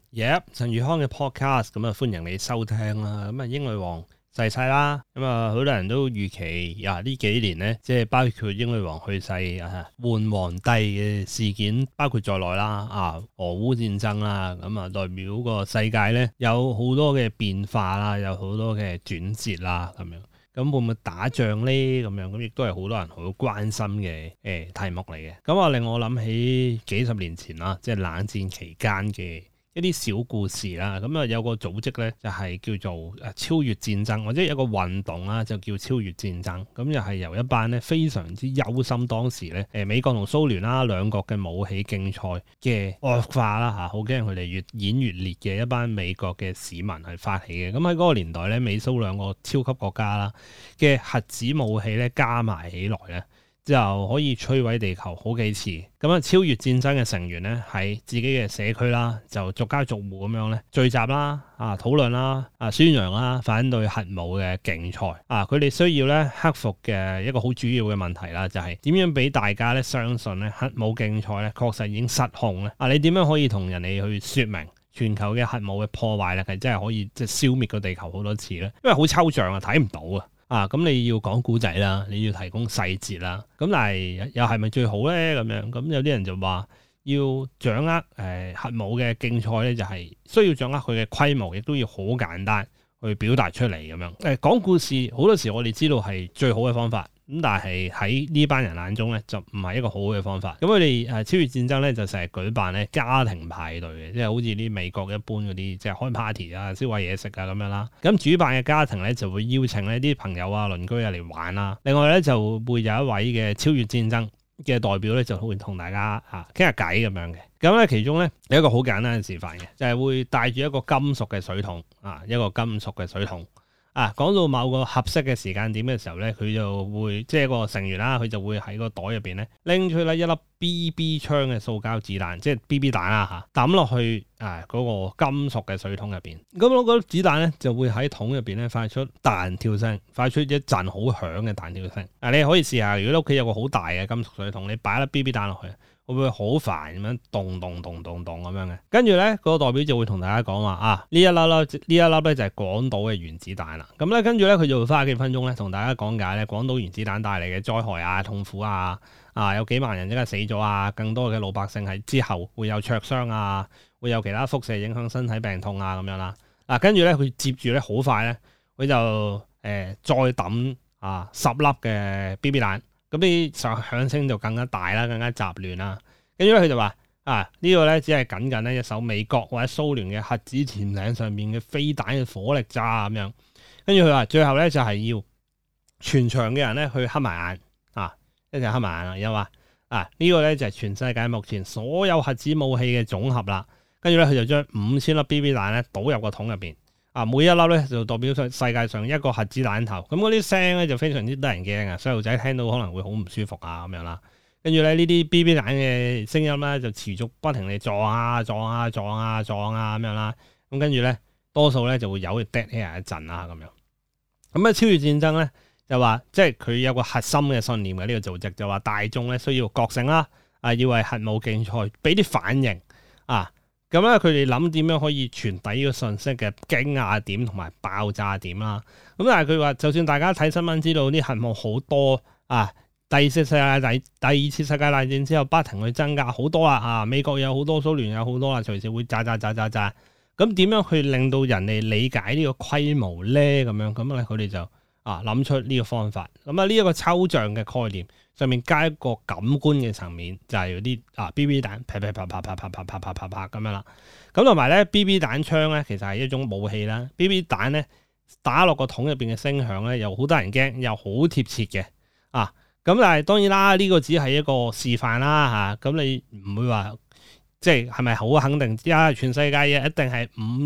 Yep， 陳宇康嘅 podcast 咁啊，歡迎你收聽啦。咁啊，英女王逝世啦，咁啊，好多人都預期呢幾年咧，即係包括英女王去世換皇帝嘅事件，包括在內啦。俄烏戰爭啦，咁啊，代表個世界咧有好多嘅變化啦，有好多嘅轉折啦，咁樣。咁會唔會打仗咧？咁樣咁亦都係好多人好關心嘅題目嚟嘅。咁啊，令我諗起幾十年前啦，即係冷戰期間嘅一啲小故事啦。咁啊，有個組織咧就係叫做超越戰爭，或者有個運動啦，就叫超越戰爭。咁又係由一班咧非常之憂心當時咧美國同蘇聯啦兩國嘅武器競賽嘅惡化啦嚇，好驚佢哋越演越烈嘅一班美國嘅市民係發起嘅。咁喺嗰個年代咧，美蘇兩個超級國家啦嘅核子武器咧加埋起來咧，就可以摧毀地球好幾次。咁啊，超越戰爭嘅成員咧喺自己嘅社區啦，就逐家逐戶咁樣咧聚集啦，討論啦，宣揚啦，反對核武嘅競賽。佢哋需要咧克服嘅一個好主要嘅問題啦，就係點樣俾大家咧相信咧核武競賽咧確實已經失控咧。你點樣可以同人哋去説明全球嘅核武嘅破壞咧係真係可以即係消滅個地球好多次咧？因為好抽象啊，睇唔到啊。咁你要講古仔啦，你要提供細節啦，咁但係又係咪最好咧？咁樣咁有啲人就話要掌握核武嘅競賽咧，就係需要掌握佢嘅規模，亦都要好簡單去表達出嚟咁樣。講故事好多時我哋知道係最好嘅方法，咁但係喺呢班人眼中咧就唔係一個好好嘅方法。咁佢哋超越戰爭咧就成日舉辦咧家庭派對嘅，即係好似啲美國一般嗰啲即係開 party 啊、燒壞嘢食啊咁樣啦。咁主辦嘅家庭咧就會邀請呢啲朋友啊、鄰居啊嚟玩啦。另外咧就會有一位嘅超越戰爭嘅代表咧就會同大家傾下偈咁樣嘅。咁咧其中咧有一個好簡單嘅示範嘅，就係會帶住一個金屬嘅水桶一個金屬嘅水桶。講到某個合適嘅時間點嘅時候咧，佢就會即係一個成員啦，佢就會喺個袋入邊咧拎出咧一粒 BB 槍嘅塑膠子彈，即係 BB 彈啦嚇，抌落去嗰個金屬嘅水桶入邊。咁嗰粒子彈咧就會喺桶入邊咧發出彈跳聲，發出一陣好響嘅彈跳聲。你可以試下，如果你屋企有個好大嘅金屬水桶，你擺一粒 BB 彈落去，會唔會好煩咁樣咚咚咚咚咚咁樣嘅？跟住咧，個代表就會同大家講話呢一粒咧就係廣島嘅原子彈啦。咁咧跟住咧佢就會花幾分鐘咧同大家講解咧廣島原子彈帶嚟嘅災害痛苦有幾萬人即刻死咗更多嘅老百姓係之後會有灼傷會有其他輻射影響身體病痛咁樣啦。跟住咧佢接住咧好快咧佢就再抌10粒嘅 BB 彈。咁啲響聲就更加大啦，更加雜亂啦。跟住咧，佢就話呢個咧只係僅僅咧一艘美國或者蘇聯嘅核子潛艇上面嘅飛彈嘅火力渣咁樣。跟住佢話最後咧就係要全場嘅人咧去黑埋眼一齊黑埋眼，然後話呢個咧就係全世界目前所有核子武器嘅總和啦。跟住咧佢就將5000粒 BB 彈咧倒入個桶入邊。每一粒咧就代表世界上一個核子彈頭，咁嗰啲聲咧就非常之得人驚細路仔聽到可能會好唔舒服咁樣啦。跟住咧呢啲 BB 彈嘅聲音咧就持續不停地撞咁樣啦。咁跟住咧多數咧就會有 dead air 一陣啦咁樣。咁超越戰爭咧就話即係佢有個核心嘅信念嘅呢個組織，就話大眾咧需要覺醒啦，要為核武競賽俾啲反應咁咧，佢哋諗點樣可以傳遞呢個信息嘅驚訝點同埋爆炸點啦。咁但係佢話，就算大家睇新聞知道啲核武好多第二次世界大戰之後不停去增加好多啦美國有好多，蘇聯有好多啦，隨時會炸。咁點樣去令到人哋理解呢個規模咧？咁咧佢哋就諗出呢個方法。咁呢一個抽象嘅概念上面加一個感官嘅層面，就係嗰啲BB 彈啪咁樣啦。咁同埋咧 BB 彈槍咧，其實係一種武器啦。BB 彈咧打落個桶入邊嘅聲響咧，又好得人驚，又好貼切嘅咁但係當然啦，呢個只係一個示範啦咁你唔會話即係咪好肯定全世界嘅一定係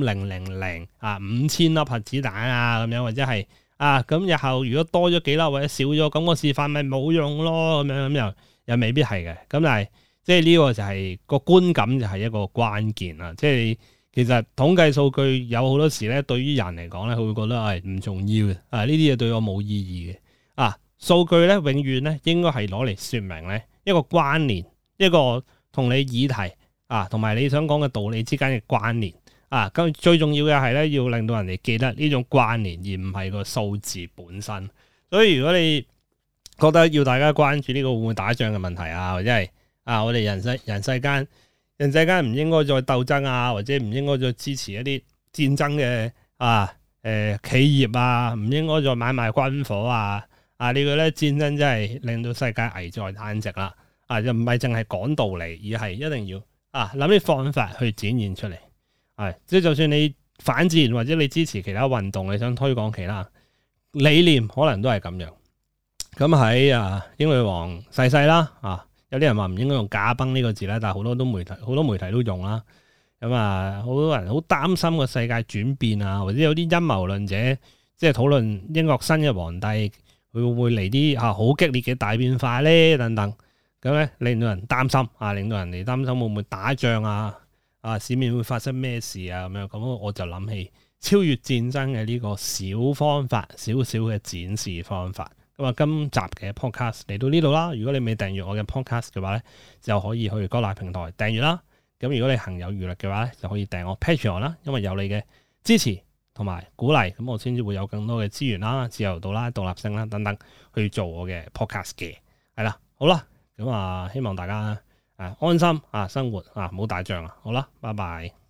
5000 5000粒核子彈咁樣，或者係咁日後如果多咗幾粒或者少咗，咁個示範咪冇用咯咁樣，咁又未必係嘅。咁但係即係呢個就係個觀感，就係一個關鍵啦。即係其實統計數據有好多時咧，對於人嚟講咧，佢會覺得係唔重要嘅。呢啲嘢對我冇意義嘅。數據咧永遠咧應該係攞嚟說明咧一個關聯，一個同你議題同埋你想講嘅道理之間嘅關聯咁最重要嘅係咧，要令到人哋記得呢種關聯，而唔係個數字本身。所以如果你覺得要大家關注呢個會唔會打仗嘅問題啊，或者係我哋人世間唔應該再鬥爭啊，或者唔應該再支持一啲戰爭嘅企業啊，唔應該再買賣軍火啊。呢個咧戰爭真係令到世界危在旦夕啦。就唔係淨係講道理，而係一定要諗啲方法去展現出嚟。即係就算你反戰或者你支持其他運動，你想推廣其他理念，可能都係咁樣。咁喺英女王逝世啦，有啲人話唔應該用駕崩呢個字咧，但係好多媒體都用啦。咁好多人好擔心個世界轉變啊，或者有啲陰謀論者即係討論英國新嘅皇帝佢會唔會嚟啲好激烈嘅大變化咧等等。咁咧令到人擔心令到人哋擔心會唔會打仗市面會發生咩事咁樣。咁我就諗起超越戰爭嘅呢個小方法，少少嘅展示方法。咁今集嘅 podcast 嚟到呢度啦。如果你未訂閱我嘅 podcast 嘅話咧，就可以去各大平台訂閱啦。咁如果你行有餘力嘅話咧，就可以訂我 Patreon 啦。因為有你嘅支持同埋鼓勵，咁我先至會有更多嘅資源啦、自由度啦、獨立性啦等等去做我嘅 podcast 嘅。係啦，好啦，咁希望大家安心生活唔好打仗好啦，拜拜。